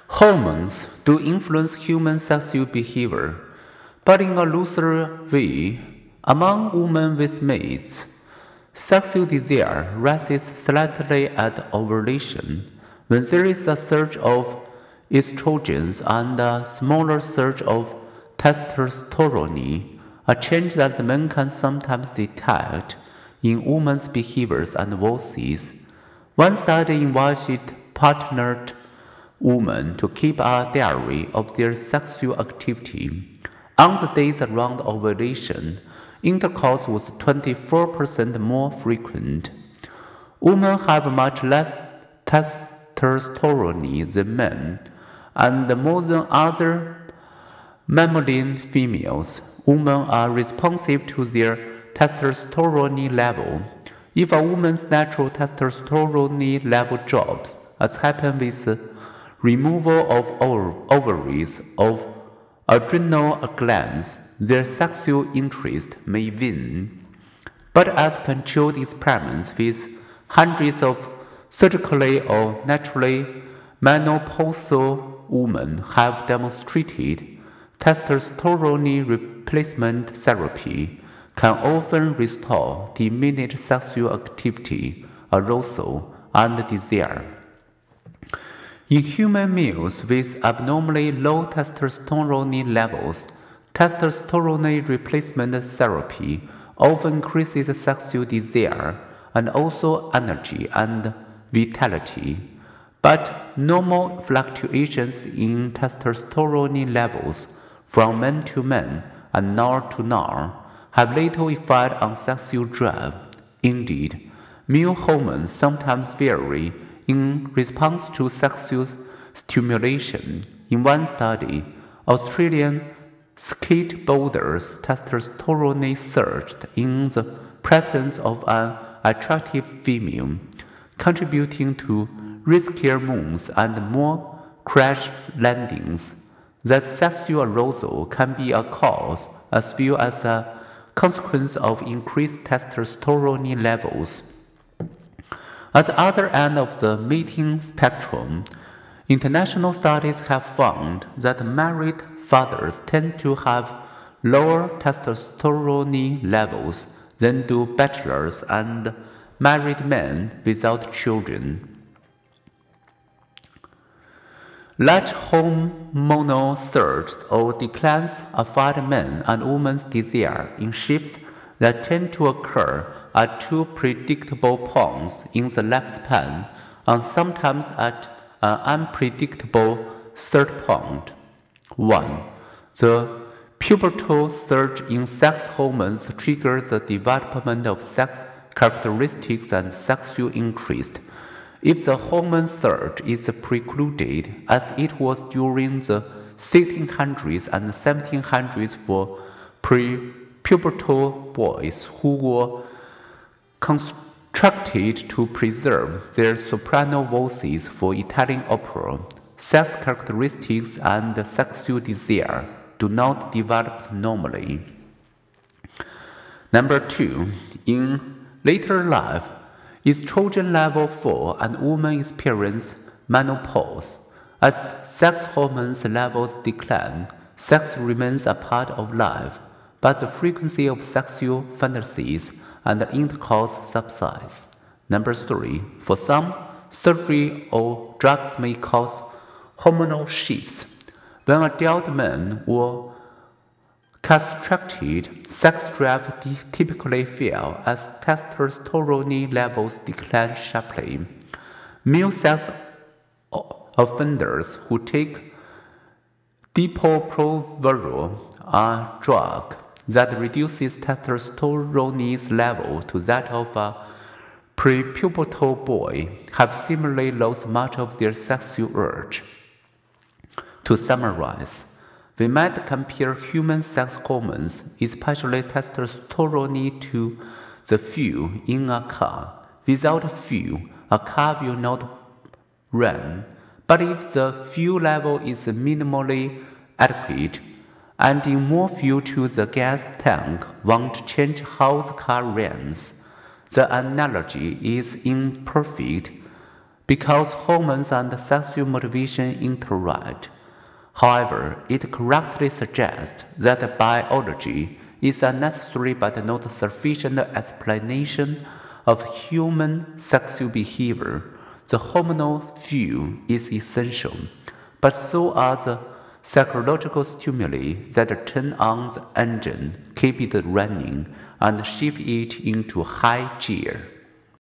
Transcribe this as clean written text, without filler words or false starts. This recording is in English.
Hormones do influence human sexual behavior, but in a looser way. Among women with mates, sexual desire rises slightly at ovulation, when there is a surge of estrogens and a smaller surge of testosterone, a change that men can sometimes detect in women's behaviors and voices. One study invited partnered women to keep a diary of their sexual activity. On the days around ovulation, intercourse was 24% more frequent. Women have much less testosterone than men, and more than other mammalian females, women are responsive to their testosterone level. If a woman's natural testosterone level drops, as happens with removal of ovaries or adrenal glands, their sexual interest may wane. But as controlled experiments with hundreds of surgically or naturally menopausal women have demonstrated, testosterone replacement therapy can often restore diminished sexual activity, arousal, and desire. In human males with abnormally low testosterone levels, testosterone replacement therapy often increases sexual desire and also energy and vitality. But normal fluctuations in testosterone levels from man to man and nor to nor have little effect on sexual drive. Indeed, male hormones sometimes vary in response to sexual stimulation. In one study, Australian skateboarders' testosterone surged in the presence of an attractive female, contributing to riskier moves and more crash landings. That sexual arousal can be a cause as well as a consequence of increased testosterone levels. At the other end of the mating spectrum, international studies have found that married fathers tend to have lower testosterone levels than do bachelors and married men without children. Large hormonal surges or declines affect men and women's desire in shifts that tend to occur at two predictable points in the lifespan and sometimes at an unpredictable third point. 1. The pubertal surge in sex hormones triggers the development of sex characteristics and sexual interest. If the hormone surge is precluded, as it was during the 1600s and 1700s for pre-pubertal boys who were constructed to preserve their soprano voices for Italian opera, sex characteristics and sexual desire do not develop normally. Number 2. In later life, estrogen level fall and women experience menopause. As sex hormones levels decline, sex remains a part of life, but the frequency of sexual fantasies and intercourse subsides. Number 3. For some, surgery or drugs may cause hormonal shifts. When adult men were castrated, sex drive typically fell as testosterone levels decline sharply. Male sex offenders who take depo-provera, a drug that reduces testosterone's level to that of a prepubertal boy, have similarly lost much of their sexual urge. To summarize, we might compare human sex hormones, especially testosterone, to the fuel in a car. Without fuel, a car will not run. But if the fuel level is minimally adequate, adding more fuel to the gas tank won't change how the car runs. The analogy is imperfect, because hormones and sexual motivation interact. However, it correctly suggests that biology is a necessary but not sufficient explanation of human sexual behavior. The hormonal view is essential, but so are the psychological stimuli that turn on the engine, keep it running, and shift it into high gear.